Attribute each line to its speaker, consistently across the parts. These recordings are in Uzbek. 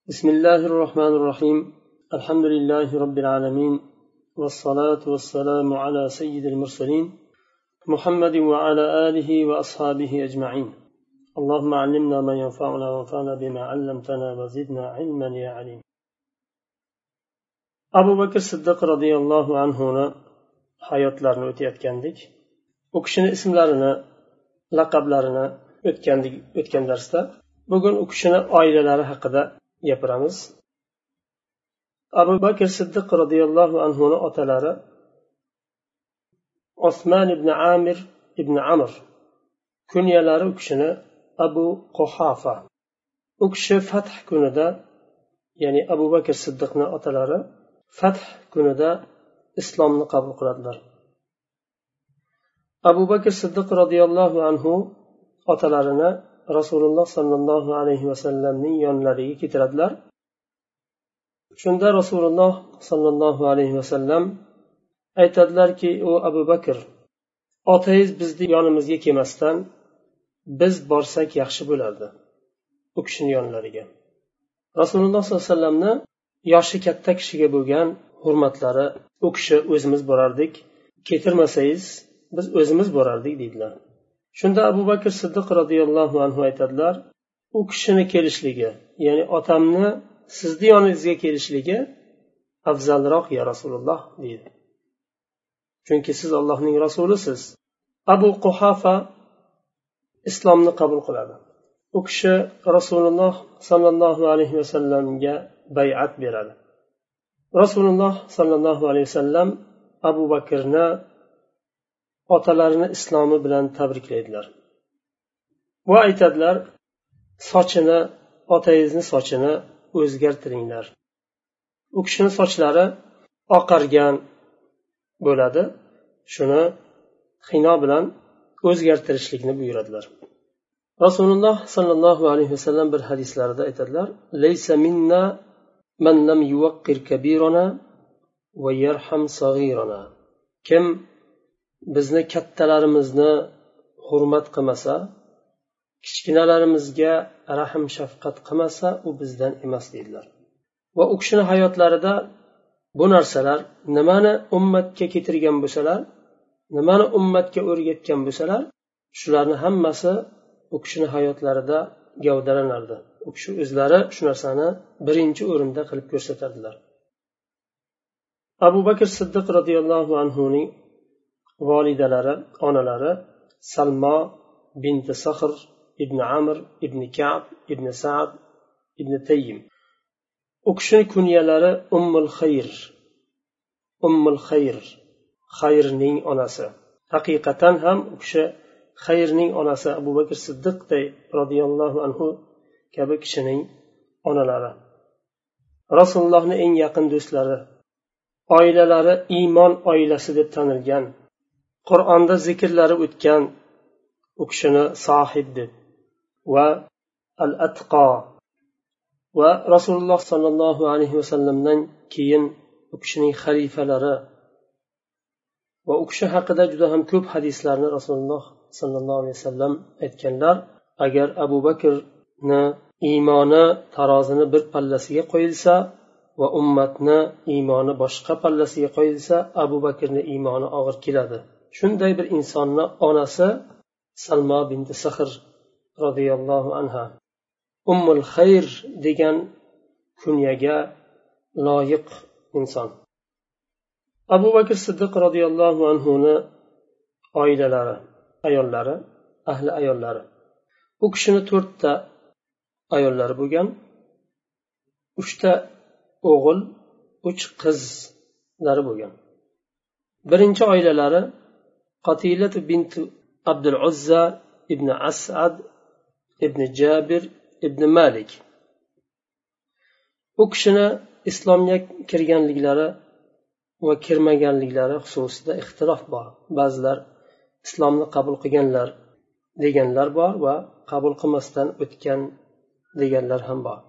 Speaker 1: بسم الله الرحمن الرحيم الحمد لله رب العالمين والصلاة والسلام على سيد المرسلين محمد وعلى آله وأصحابه أجمعين اللهم علمنا ما ينفعنا وانفعنا بما علمتنا وزدنا علما يا عليم أبو بكر الصديق رضي الله عنه hayotlarini o'tayotgandik. U kishini ismlarini, laqablarini o'tgan darsda. Bugun u kishini oilalari haqida gapiramiz. Abu Bakr Siddiq radhiyallohu anhu otalari Osman ibn Amir ibn Amr, kunyalari u kishini Abu Quhafa. U kishi Fath kunida, ya'ni Abu Bakr Siddiqning otalari Fath kunida islomni qabul qiladilar. Abu Bakr Siddiq radhiyallohu anhu otalarini Rasululloh sallallohu alayhi vasallamning yonlariga keltiradilar. Shunda Rasululloh sallallohu alayhi vasallam aytadilarki, o Abu Bakr, otangiz bizni yonimizga kelmasdan biz borsak yaxshi bo'lardi. U kishining yonlariga. Rasululloh sallallohu alayhi vasallamni yoshi katta kishiga bo'lgan hurmatlari, u kishi o'zimiz borardik, ketirmasangiz biz o'zimiz borardik dedilar. Shunda Abu Bakr Siddiq radhiyallohu anhu aytadilar, u kishini kelishligi, ya'ni otamni sizni yoningizga kelishligi afzalroq ya Rasululloh dedi. Chunki siz Allohning rasulisiz. Abu Quhafa islomni qabul qiladi. U kishi Rasululloh sallallohu alayhi vasallamga bay'at beradi. Rasululloh sallallohu alayhi vasallam Abu Bakrni otalarini islomi bilan tabriklaydilar. Va aytadilar, sochini, otangizni sochini o'zgartiringlar. U kishining sochlari oqargan bo'ladi. Shuni xino bilan o'zgartirishlikni buyuradilar. Rasululloh sallallohu alayhi vasallam bir hadislarida aytadilar, "Laysa minna man lam yuwaqqir kabirana va yarham saghirana." Kim bizni kattalarimizni hurmat qilmasa, kichkinalarimizga rahm shafqat qilmasa, u bizdan emas dedilar. Va u kishini hayotlarida bu narsalar nimani ummatga keltirgan bo'lsalar, nimani ummatga o'rgatgan bo'lsalar, shularni hammasi u kishini hayotlarida gavdalanardi. U kishi o'zlari shu narsani birinchi o'rinda qilib ko'rsatardilar. Abu Bakr Siddiq radhiyallohu anhuning volidalari, onalari Salma bint Sahr ibn Amr ibn Ka'b ibn Sa'd ibn Tayyim. U kishining kunyalari Ummul Xayr. Ummul Xayr, Xayrning onasi. Haqiqatan ham u kishi Xayrning onasi Abu Bakr Siddiq radhiyallohu anhu kabi kishining onalari. Rasulullohning eng yaqin do'stlari, oilalari iymon oilasi deb tanilgan, Qur'onda zikrlari o'tgan u kishini sohib deb va al-atqa va Rasululloh sallallohu alayhi vasallamdan keyin u kishining xalifalari va u kishi haqida juda ham ko'p hadislarni Rasululloh sallallohu alayhi vasallam aytganlar. Agar Abu Bakrni iymoni tarozini bir pallasiga qo'yilsa va ummatni iymoni boshqa pallasiga qo'yilsa, Abu Bakrni iymoni og'ir keladi. Shunday bir insonni onasi Salma bint Sahr radhiyallohu anha Ummul Xayr degan kunyaga loyiq inson. Abu Bakr Siddiq radhiyallohu anhuni oilalari, ayollari, ahli ayollari. U kishini 4 ta ayollari bo'lgan. 3 ta o'g'il, 3 qizlari bo'lgan. Birinchi oilalari Qatilat bint Abdul Uzza ibn As'ad ibn Jabir ibn Malik. U kishini islomga kirganliklari va kirmaganliklari xususida ixtilof bor. Ba'zilar islomni qabul qilganlar deganlar bor va qabul qilmasdan o'tgan deganlar ham bor.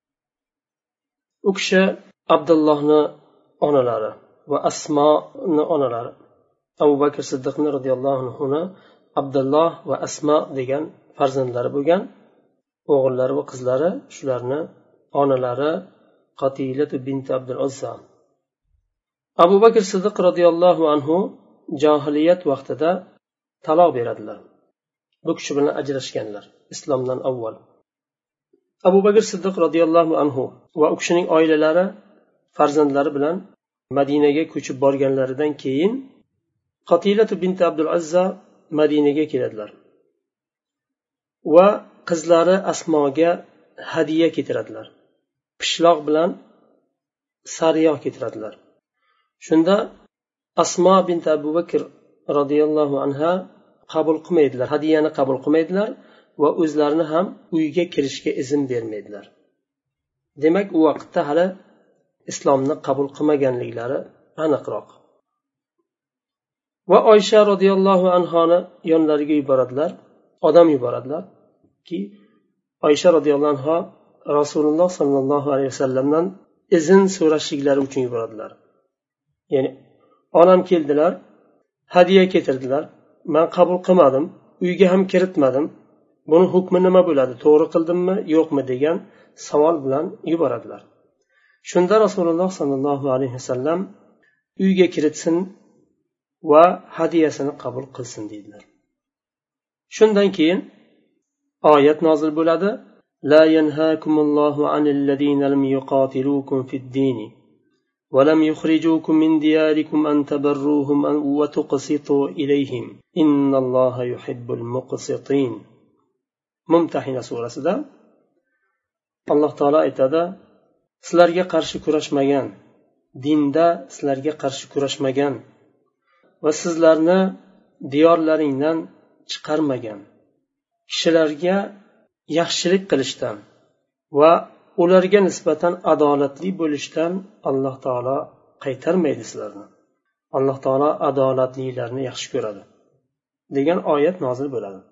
Speaker 1: U kishi Abdullohning onalari va Asmoning onalari. Abu Bakr Siddiq radhiyallohu anhu Abdulloh va Asmo degan farzandlari bo'lgan. O'g'illari va qizlari shularni onalari Qatilatu bint Abdul Uzza. Abu Bakr Siddiq radhiyallohu anhu jahiliyat vaqtida taloq beradilar. Bu kishi bilan ajrashganlar islomdan avval. Abu Bakr Siddiq radhiyallohu anhu va u kishining oilalari farzandlari bilan Madinaga ko'chib borganlaridan keyin Qatilatu bint Abdul Uzza Madinaga keladilar va qizlari Asmoga hadiya keltiradilar. Pishloq bilan sariyoq keltiradilar. Shunda Asmo bint Abu Bakr radhiyallohu anha qabul qilmaydilar, hadiyani qabul qilmaydilar va o'zlarini ham uyga kirishga izn bermaydilar. Demak, u vaqtda hali islomni qabul qilmaganliklari aniqroq. Va Oysha radhiyallohu anhoni yonlariga yuboradilar, odam yuboradilar ki Oysha radhiyallohu anha Rasululloh sallallohu alayhi vasallamdan izn so'rashliklari uchun yuboradilar. Ya'ni onam keldilar, hadiya keltirdilar, men qabul qilmadim, uyga ham kiritmadim. Buni hukmi nima bo'ladi? To'g'ri qildimmi, yo'qmi degan savol bilan yuboradilar. Shunda Rasululloh sallallohu alayhi vasallam uyga kiritsin va hadiyasini qabul qilsin dedilar. Shundan keyin oyat nozil bo'ladi. La yanhaakumullohu anil ladina lam yuqatilukum fid-din va lam yukhrijukum min diyarikum an tabarruhum wa tuqsitu ilayhim innalloha yuhibbul muqsitin. Mumtahina surasida Alloh taolo aytadi: sizlarga qarshi kurashmagan, dinda sizlarga qarshi kurashmagan va sizlarni diyorlaringdan chiqarmagan kishilarga yaxshilik qilishdan va ularga nisbatan adolatli bo'lishdan Alloh taolo qaytarmaydi sizlarni. Alloh taolo adolatlilarni yaxshi ko'radi degan oyat nozil bo'ladi.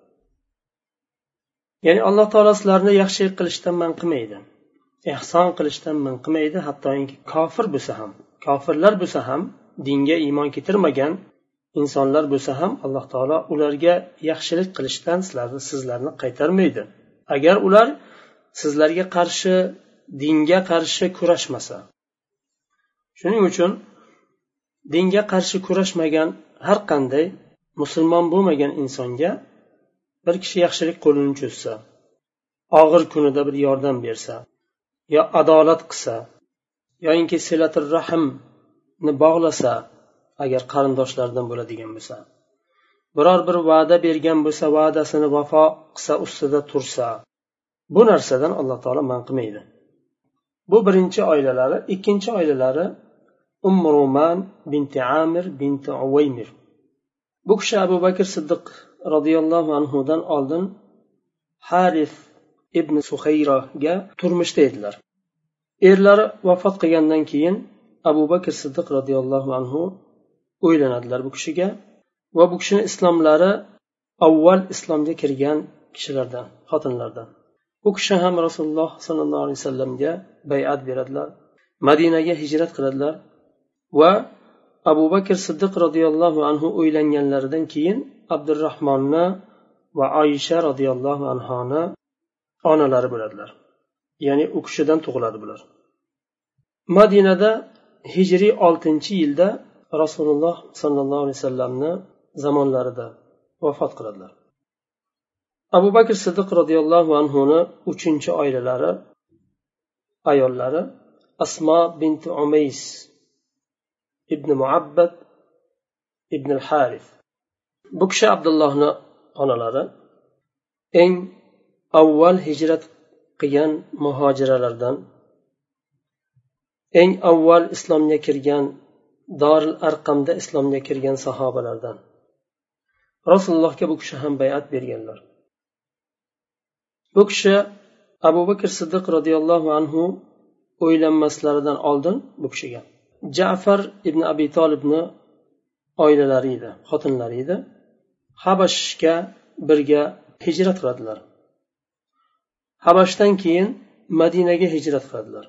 Speaker 1: Ya'ni Alloh taolo sizlarni yaxshilik qilishdan man qilmaydi, ihson qilishdan man qilmaydi. Hattoki kofirlar bo'lsa ham, dinga iymon keltirmagan insonlar bo'lsa ham Alloh taolo ularga yaxshilik qilishdan sizlarni qaytarmaydi. Agar ular sizlarga qarshi, dinga qarshi kurashmasa. Shuning uchun dinga qarshi kurashmagan har qanday musulmon bo'lmagan insonga bir kishi yaxshilik qo'lini cho'zsa, og'ir kunida bir yordam bersa, yo adolat qilsa, yoinki silatul rahmni bog'lasa, agar qarindoshlardan bo'ladigan bo'lsa, biror bir va'da bergan bo'lsa, va'dasini vafo qilsa, ustida tursa, bu narsadan Alloh taolo man qilmaydi. Bu birinchi oilalari. Ikkinchi oilalari Ruman binti Amir binti Uvaymir. Bu kishi Abu Bakr Siddiq radhiyallohu anhudan oldin Harif ibn Suhayraga turmushda edilar. Erlari vafot qilgandan keyin Abu Bakr Siddiq radhiyallohu anhu uylanadilar bu kishiga va bu kishining islomlari avval islomga kirgan kishilardan, xotinlardan. Bu kishi ham Rasululloh sallallohu alayhi vasallamga bay'at beradilar, Madinaga hijrat qiladilar va Abu Bakr Siddiq radhiyallohu anhu uylanganlaridan keyin Abdurrahmonni va Oysha radhiyallohu anhoni onalari bo'ladilar. Ya'ni u kishidan tug'iladi bular. Madinada hijriy 6-yilda Rasululloh sallallohu alayhi vasallamni zamonlarida vafot qiladilar. Abu Bakr Siddiq radhiyallohu anhuni 3-oilalari ayollari Asma bint Umays ibn Muabbad ibn al-Harith. Bu kishi Abdullohni onalari, eng avval hijrat qilgan muhojiralardan, eng avval islomga kirgan, Dorul Arqamda islomga kirgan sahobalardan. Rasulullohga bu kishi ham bay'at berganlar. Bu kishi Abu Bakr Siddiq radhiyallohu anhu o'ylanmaslaridan oldin bu kishiga Ja'far ibn Abi Talibni oilalari edi, xotinlari edi. Habashga birga hijrat qiladilar. Habashdan keyin Madinaga hijrat qiladilar.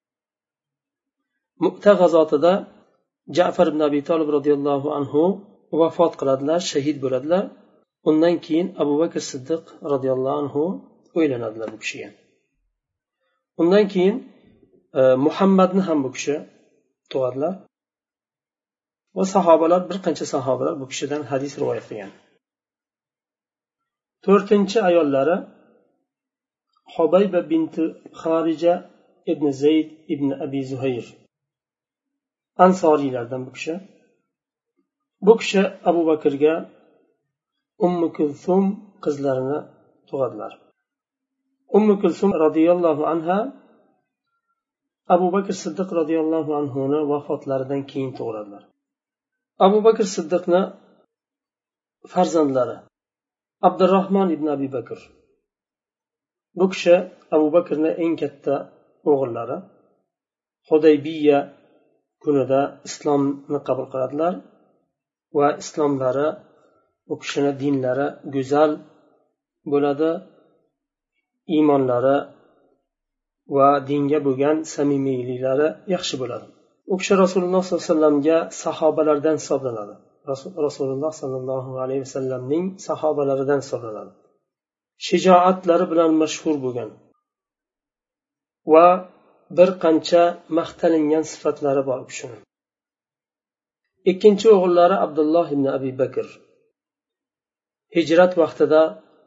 Speaker 1: Mu'ta g'azotida Ja'far ibn Abi Talib radhiyallohu anhu vafot qiladilar, shahid bo'ladilar. Undan keyin Abu Bakr Siddiq radhiyallohu anhu o'ylanadilar bu kishiga. undan keyin muhammadni ham bu kishi tug'adilar va sahobalar, bir qancha sahobalar bu kishidan hadis rivoyat qilgan. To'rtinchi ayollari Hubayba binti Xarija ibn Zayd ibn Abi Zuhayr, ansoriylardan bu kishi. Bu kishi Abu Bakrga Ummu Kulsum qizlarini tug'adilar. Ummu Kulsum radhiyallohu anha Abu Bakr Siddiq radhiyallohu anhuni vafotlaridan keyin tug'iladilar. Abu Bakr Siddiqni farzandlari Abdurrahmon ibn Abi Bakr. Bu kishi Abu Bakrning eng katta o'g'illari. Hudaybiya kunida islomni qabul qiladilar va islomlari, bu kishining dinlari go'zal bo'ladi, iymonlari va dinga bo'lgan samimiyliklari yaxshi bo'ladi. U kishi Rasululloh sollallohu alayhi vasallamga sahobalardan hisoblanadi. Rasululloh sollallohu alayhi vasallamning sahobalaridan hisoblanadi. Shijoatlari bilan mashhur bo'lgan va bir qancha maqtalingan sifatlari bor u kishining. Ikkinchi o'g'illari Abdulloh ibn Abi Bakr. Hijrat vaqtida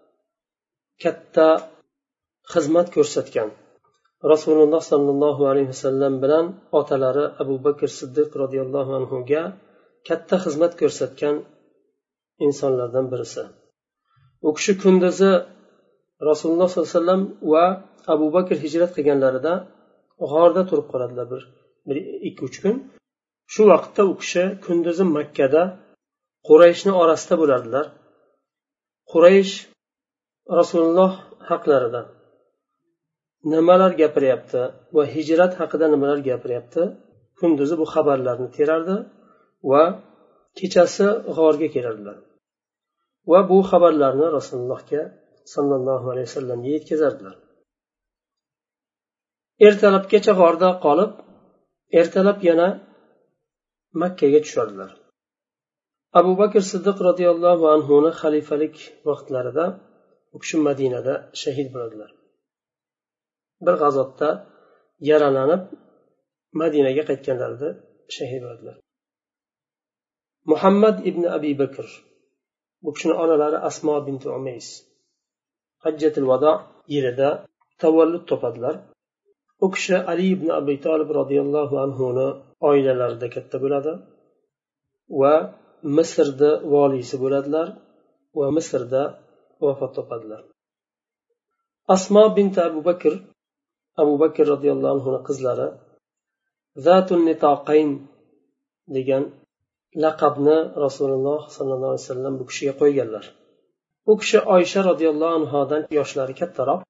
Speaker 1: katta xizmat ko'rsatgan. Rasululloh sollallohu alayhi vasallam bilan otalari Abu Bakr Siddiq radhiyallohu anhuga katta xizmat ko'rsatgan insonlardan birisi. U kishi kunduzi Rasululloh sollallohu alayhi vasallam va Abu Bakr hijrat qilganlarida g'orda turib qoladilar bir 2-3 kun. Shu vaqtda u kishi kunduzi Makkada Qurayshning orasida bo'lardilar. Quraysh Rasululloh haqlarida nimalar gapiryapti va hijrat haqida nimalar gapiryapti, kunduzi bu xabarlarni terardi va kechasi g'orga kelardilar va bu xabarlarni Rasulullohga sallallohu alayhi vasallamga yetkazardilar. Ertalabgacha g'orda qolib, ertalab yana Makkaga tushadilar. Abu Bakr Siddiq radhiyallohu anhuning xalifalik vaqtlarida u kishi Madinada shahid bo'ladilar. Bir g'azotda yaralanib Madinaga qaytganlarida shahid bo'ladilar. Muhammad ibn Abi Bakr, bu kishining onalari Asmo bint Umays Hajjatul Vado yilida tavallud topadilar. U kishi Ali ibn Abi Talib radhiyallohu anhuning oilalarida katta bo'ladi va Misrda valisi bo'ladilar va Misrda vafot topadilar. Asmo bint Abu Bakr radhiyallohu anhuning qizlari Zatun Nitaqayn degan laqabni Rasululloh sallallohu alayhi vasallam bu kishiga qo'yganlar. U kishi Oysha radhiyallohu anhodan yoshlari kattaroq.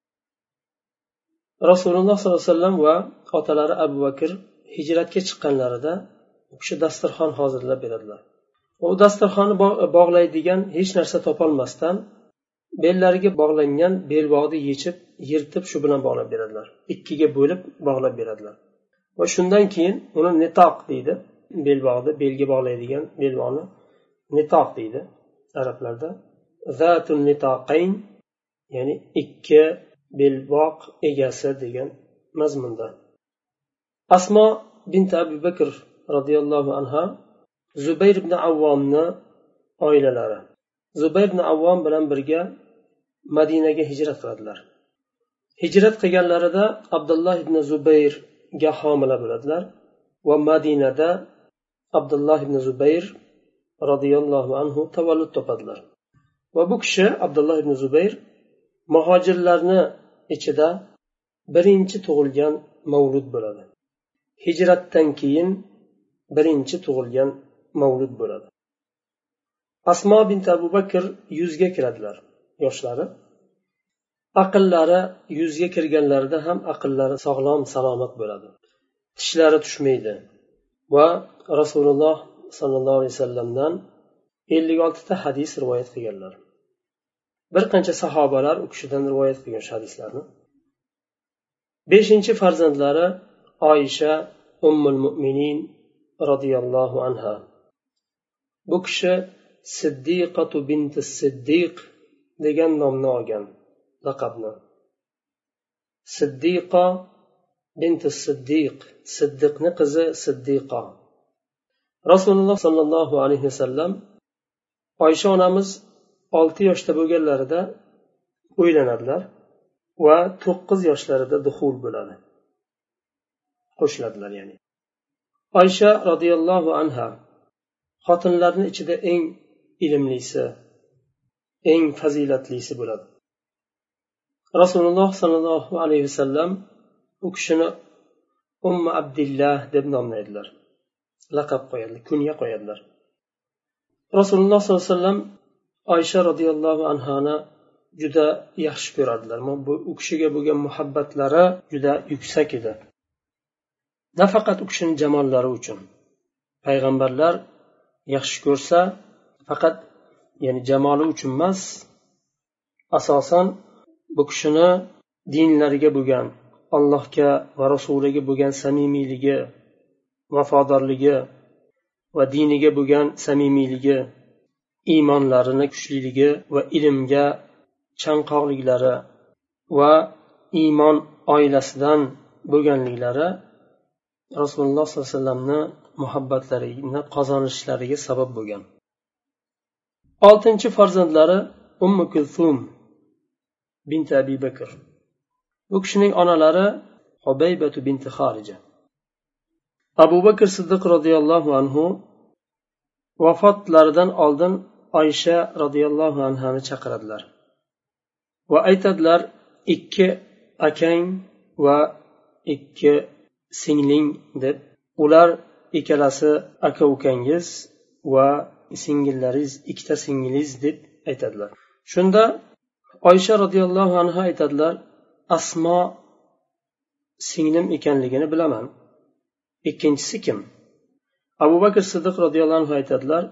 Speaker 1: Rasululloh sallallohu alayhi vasallam va otalari Abu Bakr hijratga chiqqanlarida u kishi dasturxon hozirlab beradilar. U dasturxonni bog'laydigan hech narsa topolmasdan bellariga bog'langan belbog'ni yirtib shu bilan bog'lab beradilar. Ikkiga bo'lib bog'lab beradilar. Va shundan keyin uni nitoq deydi. Belbog'ni belga bog'laydigan belbog'ni nitoq deydi arablarda. Zatun nitoqayn, ya'ni ikki belbog' egasi degan mazmunda. Asmo bint Abi Bakr radhiyallohu anha Zubayr ibn Avvomni oilalari. Zubayr ibn Avvom bilan birga Madinaga hijrat qiladilar. Hijrat qilganlarida Abdulloh ibn Zubayrga homila bo'ladilar va Madinada Abdulloh ibn Zubayr radhiyallohu anhu tavallud topadilar. Va bu kishi Abdulloh ibn Zubayr muhojirlarni ichida birinchi tug'ilgan mavlud bo'ladi. Hijratdan keyin birinchi tug'ilgan mavlud bo'ladi. Asmo bint Abu Bakr 100 ga kiradilar yoshlari. Aqllari 100 ga kirganlarida ham aqllari sog'lom salomat bo'ladi. Tishlari tushmaydi va Rasululloh sallallohu alayhi vasallamdan 56 ta hadis rivoyat qilganlar. Bir qancha sahobalar u kishidan rivoyat qilgan hadislarni. 5-chi farzandlari Oysha Ummul Mu'minin radhiyallohu anha. Bu kishi Siddiqatu binti Siddiq degan nomni olgan, laqabni. Siddiqa bint siddiq, siddiqni qizi siddiqa. Rasululloh sollallohu alayhi vasallam Oysha onamiz 6 yoshda bo'lganlarida uylanadilar va 9 yoshlarida duxul bo'ladi, qo'shiladilar. Ya'ni Oysha radhiyallohu anha xotinlarning ichida eng ilmlisi, eng fazilatlisi bo'ladi. Rasululloh sollallohu alayhi vasallam u kishini Ummu Abdillah deb nomlaydilar, laqab qo'yadilar, kunya qo'yadilar. Rasululloh sollallohu alayhi vasallam Oysha radhiyallohu anhani juda yaxshi ko'radilar. U kishiga bo'lgan muhabbatlari juda yuksak edi. Nafaqat u kishining jamollari uchun. Payg'ambarlar yaxshi ko'rsa, faqat ya'ni jamoli uchun emas, asosan bu kishini dinlariga bo'lgan, Allohga va rasuliga bo'lgan samimiyligi, vafodorligi va diniga bo'lgan samimiyligi, iymonlarini kuchliligi va ilmga chanqoqliklari va iymon oilasidan bo'lganliklari Rasululloh sollallohu alayhi vasallamni muhabbatlarini qozonishlariga sabab bo'lgan. 6-chi farzandlari Ummu Kulthum bint Abi Bakr. Bu kishining onalari Hubaybatu bint Xorija. Abu Bakr Siddiq radhiyallohu anhu vafotlaridan oldin Oysha radhiyallohu anhani chaqiradilar va aytadilar: 2 akang va 2 singling deb. Ular ikkalasi aka ukangiz va singillaringiz, 2ta singilingiz deb aytadilar. Shunda Oysha radhiyallohu anha aytadilar: Asmo singlim ekanligini bilaman. Ikkinchisi kim? Abu Bakr Siddiq radhiyallohu anhu aytadilar: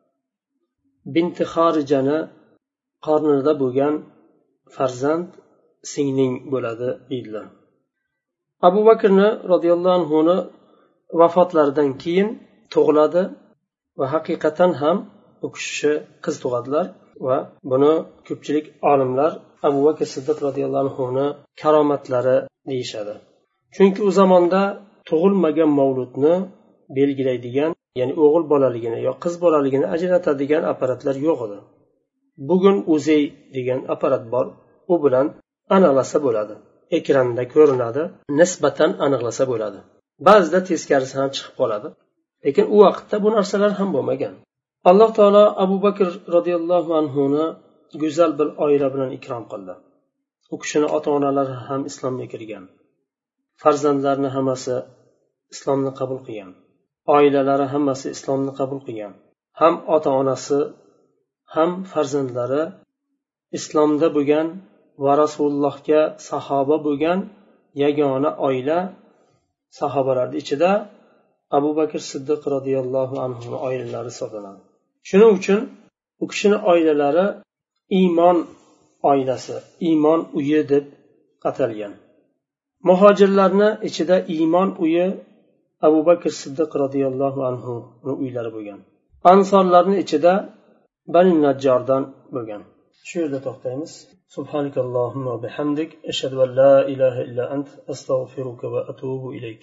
Speaker 1: Binti Xorijani qornida bo'lgan farzand singling bo'ladi deydilar. Abu Bakrni radhiyallohu anhuni vafotlaridan keyin tug'iladi va haqiqatan ham u kishi qiz tug'adilar va buni ko'pchilik olimlar Abu Bakr Siddiq radhiyallohu anhuni karomatlari deyishadi. Chunki u zamonda tug'ilmagan mavludni belgilaydigan, ya'ni o'g'il bolaligini yo qiz bolaligini ajratadigan apparatlar yo'q edi. Bugun Uzey degan apparat bor, u bilan aniqlasa bo'ladi. Ekranda ko'rinadi, nisbatan aniqlasa bo'ladi. Ba'zida teskarisi ham chiqib qoladi. Lekin u vaqtda bu narsalar ham bo'lmagan. Alloh taolo Abu Bakr radhiyallohu anhuni go'zal bir oila bilan ikrom qildi. U kishining ota-onalari ham islomga kirgan. Farzandlarini hammasi islomni qabul qilgan. Oilalari hammasi islomni qabul qilgan. Ham ota-onasi ham farzandlari islomda bo'lgan va Rasulullohga sahoba bo'lgan yagona oila. Sahobalarning ichida Abu Bakr Siddiq radhiyallohu anhu oilalari hisoblanadi. Shuning uchun u kishining oilalari iymon oilasi, iymon uyi deb atalgan. Muhojirlarni ichida iymon uyi Abu Bakr Siddiq radhiyallohu anhu uylari bo'lgan. Ansorlarning ichida Bani Najjardan bo'lgan. Shu yerda to'xtaymiz. Subhanakallohumma va bihamdik, ashhadu an la ilaha illa ant, astaghfiruka va atubu ilayk.